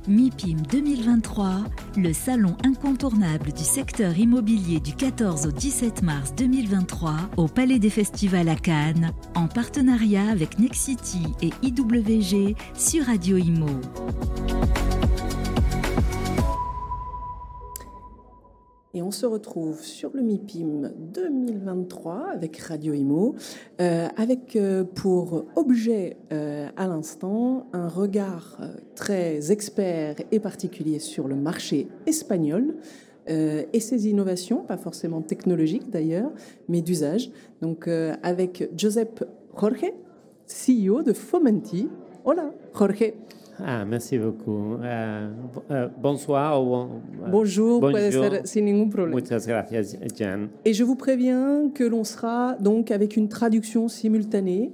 MIPIM 2023, le salon incontournable du secteur immobilier du 14 au 17 mars 2023 au Palais des Festivals à Cannes, en partenariat avec Nexity et IWG sur Radio Imo. Et on se retrouve sur le MIPIM 2023 avec Radio Imo, avec pour objet à l'instant un regard très expert et particulier sur le marché espagnol et ses innovations, pas forcément technologiques d'ailleurs, mais d'usage. Donc avec Josep Jorge, CEO de Fomenti. Hola Jorge. Merci beaucoup. Bonsoir. Bonjour, puede ser sin ningún problème. Muchas gracias, Jan. Et je vous préviens que l'on sera donc avec une traduction simultanée.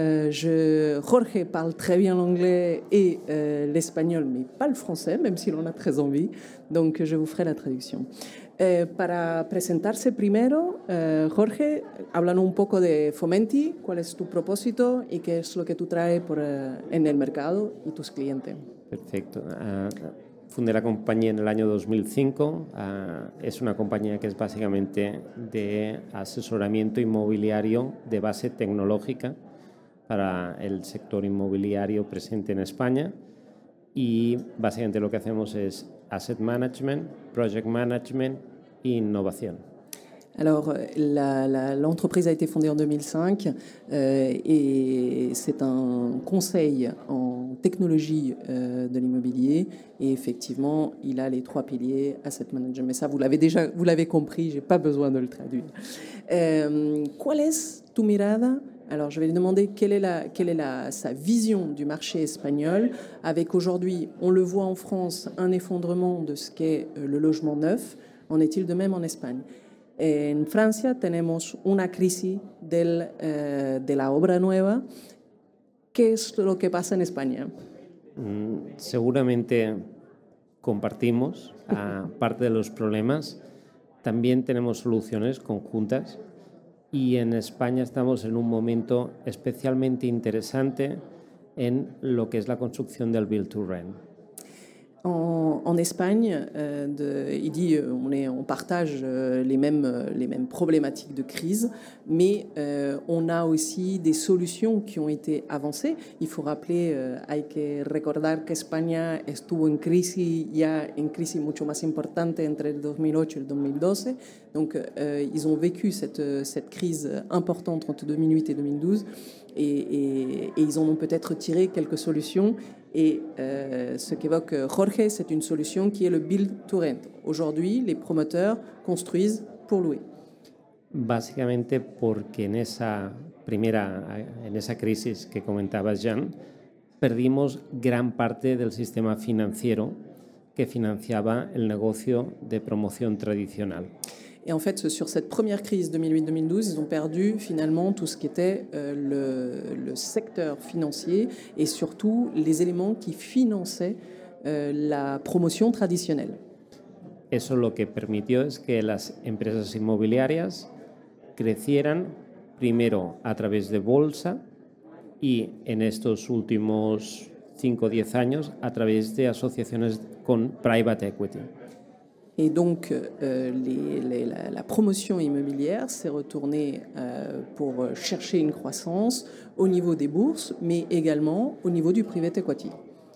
Jorge parle très bien l'anglais et l'espagnol, mais pas le français, même si l'on a très envie. Donc, je vous ferai la traducción. Para presentarse primero, Jorge, háblanos un poco de Fomenti, cuál es tu propósito y qué es lo que tú traes en el mercado y tus clientes. Perfecto. Fundé la compañía en el año 2005. Es una compañía que es básicamente de asesoramiento inmobiliario de base tecnológica para el sector inmobiliario presente en España. Y básicamente lo que hacemos es asset management, project management e innovación. Alors, l'entreprise a été fondée en 2005 et c'est un conseil en technologie de l'immobilier. Et effectivement, il a les 3 piliers, asset management. Mais ça, vous l'avez compris, je n'ai pas besoin de le traduire. ¿Cuál es tu mirada? Alors, je vais lui demander quelle est sa vision du marché espagnol, avec aujourd'hui, on le voit en France, un effondrement de ce qu'est le logement neuf. En est-il de même en Espagne? En Francia tenemos una crisis de la obra nueva. ¿Qué es lo que pasa en España? Seguramente compartimos parte de los problemas. También tenemos soluciones conjuntas. Y en España estamos en un momento especialmente interesante en lo que es la construcción del Build to Rent. En Espagne, il dit on partage les mêmes problématiques de crise, mais on a aussi des solutions qui ont été avancées. Il faut rappeler, hay que recordar que España estuvo en crisis mucho más importante entre el 2008 y el 2012. Donc, ils ont vécu cette crise importante entre 2008 et 2012 et ils en ont peut-être tiré quelques solutions. Et ce qu'évoque Jorge, c'est une solution qui est le build to rent. Aujourd'hui, les promoteurs construisent pour louer. Básicamente porque en esa crisis que comentabas, Jan, perdimos gran parte del sistema financiero que financiaba el negocio de promoción tradicional. Et en fait, sur cette première crise 2008-2012, ils ont perdu finalement tout ce qui était le secteur financier et surtout les éléments qui finançaient la promotion traditionnelle. Eso lo que permitió es que las empresas inmobiliarias crecieran primero a través de bolsa y en estos últimos 5 o 10 años a través de asociaciones con private equity. Et donc, la promotion immobilière s'est retournée pour chercher une croissance au niveau des bourses, mais également au niveau du private equity.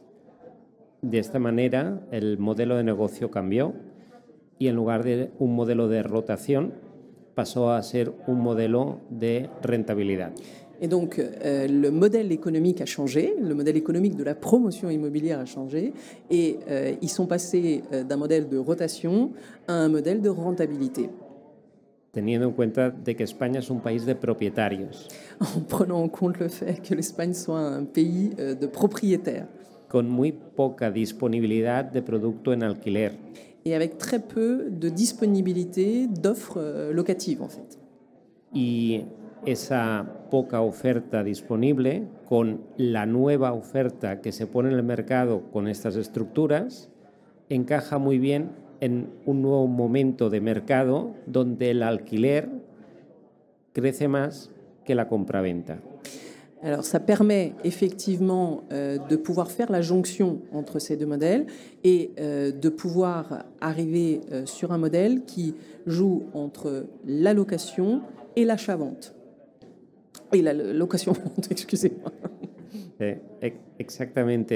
De esta manera, el modelo de negocio cambió y en lugar de un modelo de rotación, pasó a ser un modelo de rentabilidad. Et donc, le modèle économique a changé, le modèle économique de la promotion immobilière a changé, et ils sont passés d'un modèle de rotation à un modèle de rentabilité. Teniendo en cuenta de que España es un país de propietarios. En prenant en compte le fait que l'Espagne soit un pays de propriétaires. Con muy poca disponibilidad de producto en alquiler. Et avec très peu de disponibilité d'offres locatives, en fait. Y esa poca oferta disponible con la nueva oferta que se pone en el mercado con estas estructuras encaja muy bien en un nuevo momento de mercado donde el alquiler crece más que la compraventa. Alors, ça permet effectivement de pouvoir faire la jonction entre ces deux modèles et de pouvoir arriver sur un modèle qui joue entre la location et l'achat-vente. Et la location-vente, excusez-moi. Exactamente.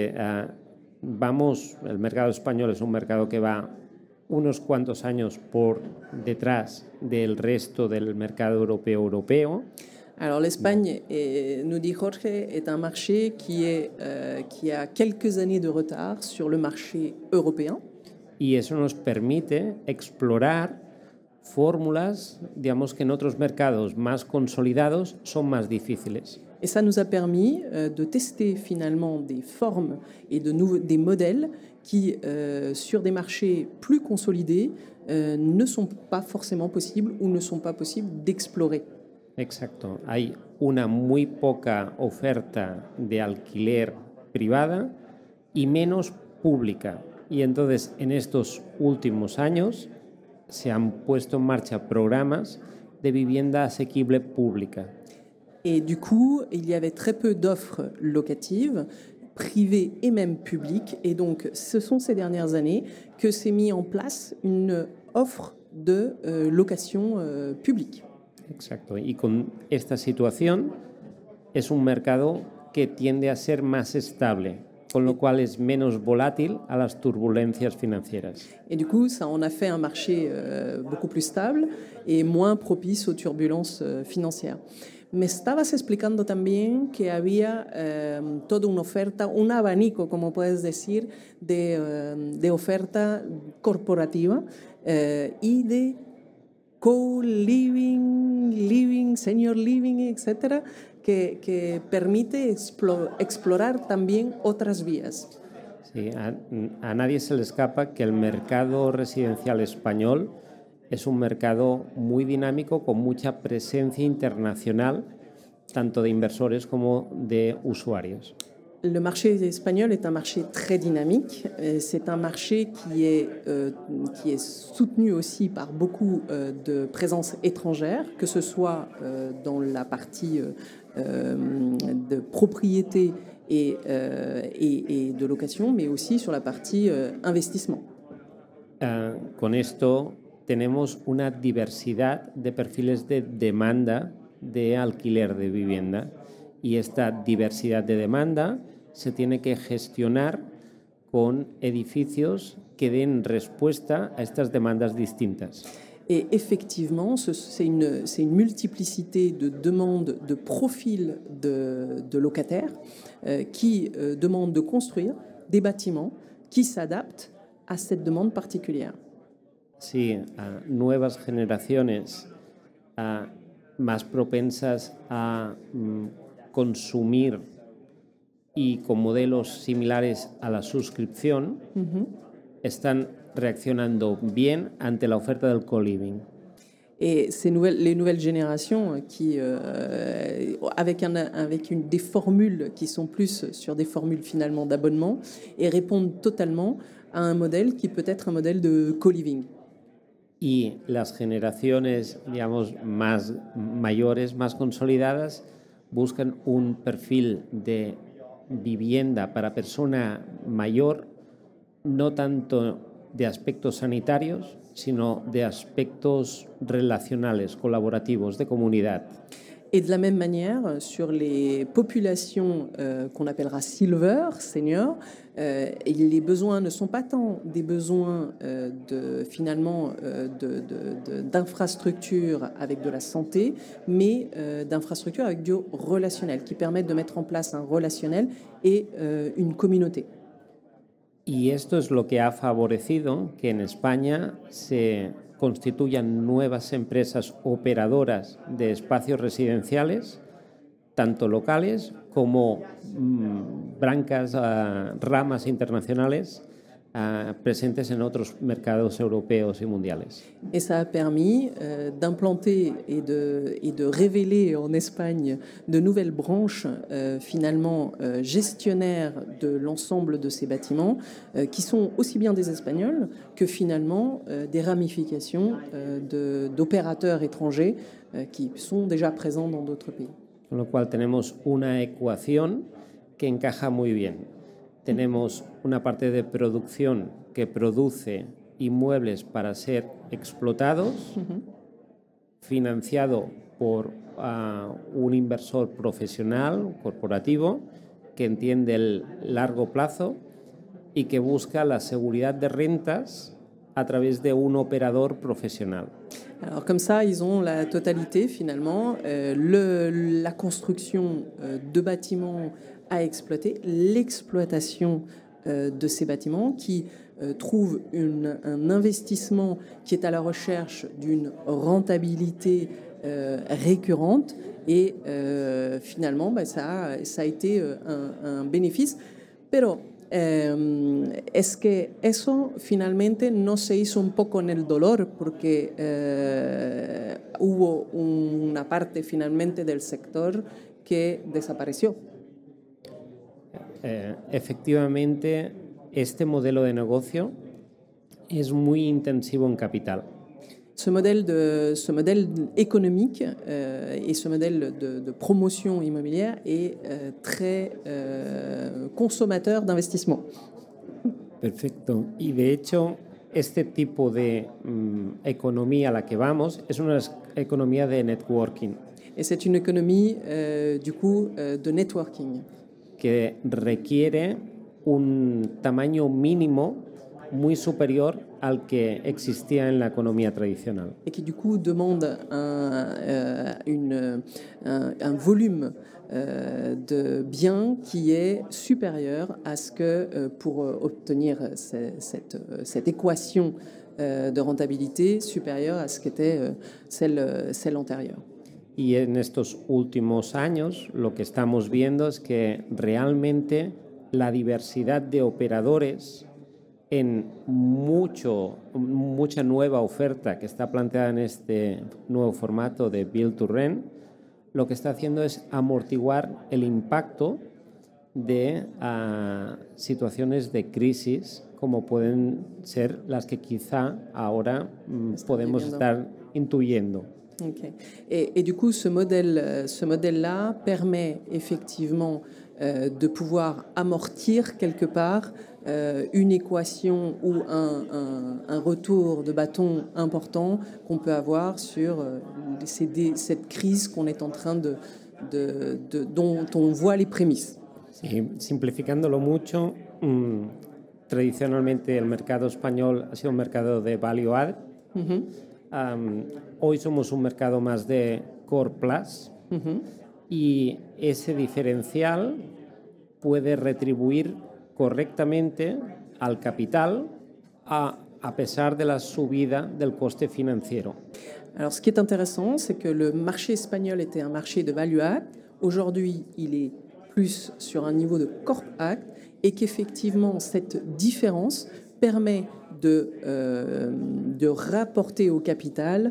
El mercado español es un mercado que va unos cuantos años por detrás del resto del mercado europeo. Alors l'Espagne, nous dit Jorge, est un marché qui a quelques années de retard sur le marché européen. Y eso nos permite explorar fórmulas, digamos, que en otros mercados más consolidados son más difíciles. Et ça nous a permis de tester finalement des formes et des modèles qui, sur des marchés plus consolidés, ne sont pas forcément possibles ou ne sont pas possibles d'explorer. Exacto. Hay una muy poca oferta de alquiler privada y menos pública. Y entonces, en estos últimos años, se han puesto en marcha programas de vivienda asequible pública. Et du coup, il y avait très peu d'offres locatives, privées et même publiques. Et donc, ce sont ces dernières années que s'est mis en place une offre de location publique. Exacto. Y con esta situación es un mercado que tiende a ser más estable, con lo cual es menos volátil a las turbulencias financieras. Et du coup, ça en a fait un marché beaucoup plus stable et moins propice aux turbulences financières. Me estabas explicando también que había toda una oferta, un abanico, como puedes decir, de oferta corporativa y de co-living, living, senior living, etcétera, que permite explorar también otras vías. Sí, a nadie se le escapa que el mercado residencial español es un mercado muy dinámico, con mucha presencia internacional, tanto de inversores como de usuarios. Le marché espagnol est un marché très dynamique. C'est un marché qui est soutenu aussi par beaucoup de présences étrangères, que ce soit dans la partie de propriété et de location, mais aussi sur la partie investissement. Con esto tenemos una diversidad de perfiles de demanda de alquiler de vivienda, y esta diversidad de demanda se tiene que gestionar con edificios que den respuesta a estas demandas distintas. Et effectivement, c'est une multiplicité de demandes, de profils de locataires qui demandent de construire des bâtiments qui s'adaptent à cette demande particulière. Sí, a nuevas generaciones más propensas a consumir y con modelos similares a la suscripción, están reaccionando bien ante la oferta del co-living. Et les nouvelles générations qui, avec des formules qui sont plus sur des formules finalement d'abonnement, et répondent totalement à un modèle qui peut être un modèle de co-living. Y las generaciones, digamos, más mayores, más consolidadas, buscan un perfil de vivienda para persona mayor, no tanto de aspectos sanitarios, sino de aspectos relacionales, colaborativos, de comunidad. Et de la même manière, sur les populations qu'on appellera silver, senior, les besoins ne sont pas tant des besoins d'infrastructures avec de la santé, mais d'infrastructures avec du relationnel, qui permettent de mettre en place un relationnel et une communauté. Y esto es lo que ha favorecido que en España se constituyan nuevas empresas operadoras de espacios residenciales, tanto locales como ramas internacionales presentes en otros mercados europeos y mundiales. Et ça a permis d'implanter et de révéler en Espagne de nouvelles branches finalement gestionnaires de l'ensemble de ces bâtiments qui sont aussi bien des Espagnols que finalement des ramifications d'opérateurs étrangers qui sont déjà présents dans d'autres pays. Con lo cual tenemos una ecuación que encaja muy bien. Tenemos una parte de producción que produce inmuebles para ser explotados, financiado por un inversor profesional, corporativo, que entiende el largo plazo y que busca la seguridad de rentas a través de un operador profesional. Alors comme ça, ils ont la totalité finalement, la construction de bâtiments à exploiter, l'exploitation de ces bâtiments qui trouvent un investissement qui est à la recherche d'une rentabilité récurrente et finalement ça a été un bénéfice. Pero es que eso finalmente no se hizo un poco en el dolor porque hubo una parte finalmente del sector que desapareció. Efectivamente, este modelo de negocio es muy intensivo en capital. Ce modèle économique et ce modèle de promotion immobilière est très consommateur d'investissement. Perfecto. Y de hecho, este tipo de economía a la que vamos es una economía de networking. Et c'est une économie du coup de networking. Que requiere un tamaño mínimo muy superior al que existía en la economía tradicional. Et qui du coup demande un volume de biens qui est supérieur à ce que pour obtenir cette équation de rentabilité supérieure à ce qu'était celle antérieure. Y en estos últimos años lo que estamos viendo es que realmente la diversidad de operadores en mucha nueva oferta que está planteada en este nuevo formato de Build to Rent, lo que está haciendo es amortiguar el impacto de situaciones de crisis como pueden ser las que quizá ahora podemos estar intuyendo. Okay. Et du coup, ce modèle-là permet effectivement de pouvoir amortir quelque part une équation ou un retour de bâton important qu'on peut avoir sur cette crise qu'on est en train dont on voit les prémices. Sí, simplificándolo mucho, tradicionalmente el mercado español ha sido un mercado de value add. Hoy somos un mercado más de core plus y ese diferencial puede retribuir correctamente al capital a pesar de la subida del coste financiero. Alors, ce qui est intéressant, c'est que le marché espagnol était un marché de value add. Aujourd'hui, il est plus sur un niveau de corp add et qu'effectivement, cette différence permet de rapporter au capital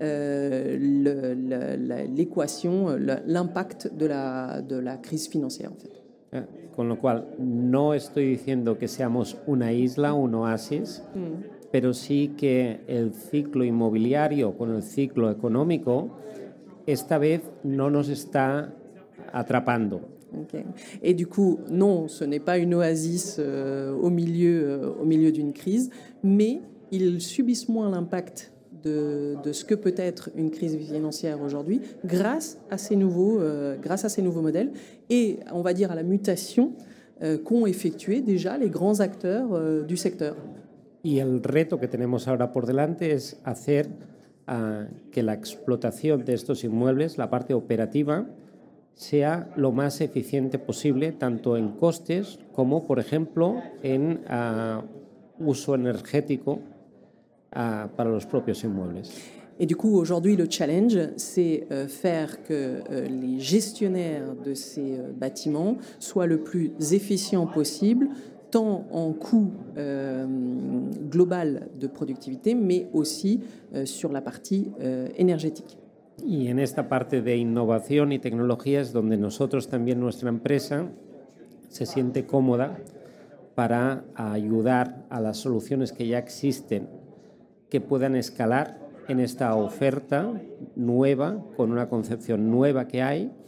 l'équation, l'impact de la crise financière en fait. Con lo cual, no estoy diciendo que seamos una isla, un oasis, pero sí que el ciclo inmobiliario con el ciclo económico esta vez no nos está atrapando. Okay. Et du coup, non, ce n'est pas une oasis au milieu d'une crise, mais ils subissent moins l'impact de ce que peut être une crise financière aujourd'hui grâce à ces nouveaux modèles et, on va dire, à la mutation qu'ont effectué déjà les grands acteurs du secteur. Y el reto que tenemos ahora por delante es hacer que la explotación de estos inmuebles, la parte operativa, sea lo más eficiente posible, tanto en costes como, por ejemplo, en uso energético para los propios inmuebles. Et du coup, aujourd'hui, le challenge, c'est faire que les gestionnaires de ces bâtiments soient le plus efficients possible, tant en coût global de productivité, mais aussi sur la partie énergétique. Y en esta parte de innovación y tecnología es donde nosotros también, nuestra empresa, se siente cómoda para ayudar a las soluciones que ya existen que puedan escalar en esta oferta nueva, con una concepción nueva que hay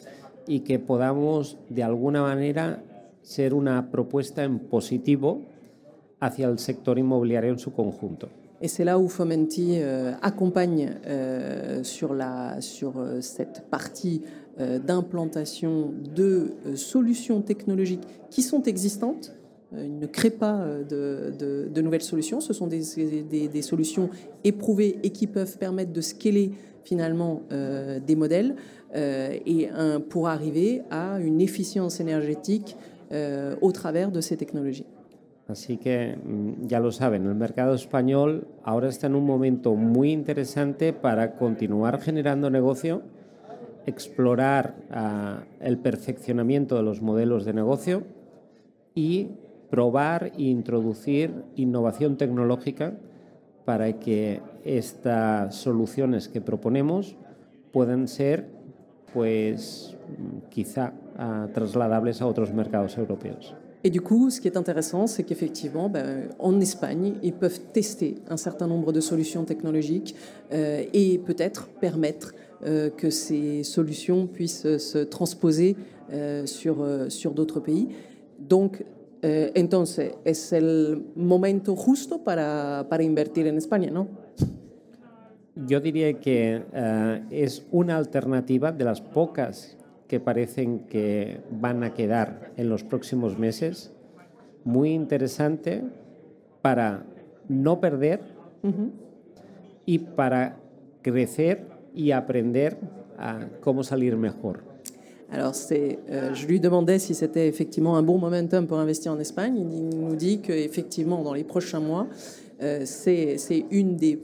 y que podamos de alguna manera ser una propuesta en positivo hacia el sector inmobiliario en su conjunto. Et c'est là où Fomenti accompagne sur cette partie d'implantation de solutions technologiques qui sont existantes. Il ne crée pas de nouvelles solutions. Ce sont des solutions éprouvées et qui peuvent permettre de scaler finalement des modèles pour arriver à une efficience énergétique au travers de ces technologies. Así que ya lo saben, el mercado español ahora está en un momento muy interesante para continuar generando negocio, explorar el perfeccionamiento de los modelos de negocio y probar e introducir innovación tecnológica para que estas soluciones que proponemos puedan ser, pues, quizá trasladables a otros mercados europeos. Et du coup, ce qui est intéressant, c'est qu'effectivement, en Espagne, ils peuvent tester un certain nombre de solutions technologiques et peut-être permettre que ces solutions puissent se transposer sur d'autres pays. Donc, entonces, es el momento justo para invertir en España, ¿no? Yo diría que es una alternativa de las pocas que parecen que van a quedar en los próximos meses, muy interesante para no perder y para crecer y aprender a cómo salir mejor. Alors, je lui demandais si c'était effectivement un bon momentum pour investir en Espagne. Il nous dit qu'effectivement, dans les prochains mois, c'est une des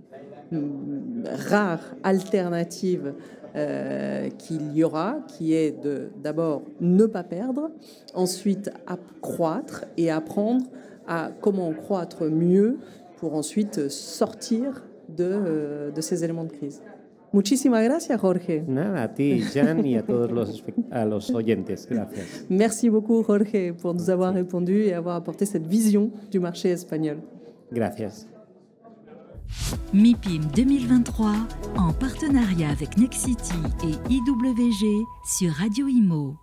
rares alternatives qu'il y aura, qui est d'abord ne pas perdre, ensuite croître et apprendre à comment croître mieux pour ensuite sortir de ces éléments de crise. Muchísimas gracias, Jorge. Nada, a ti, Jan, y a todos los oyentes. Gracias. Merci beaucoup, Jorge, pour nous avoir répondu et avoir apporté cette vision du marché espagnol. Gracias. MIPIM 2023, en partenariat avec Nexity et IWG sur Radio Imo.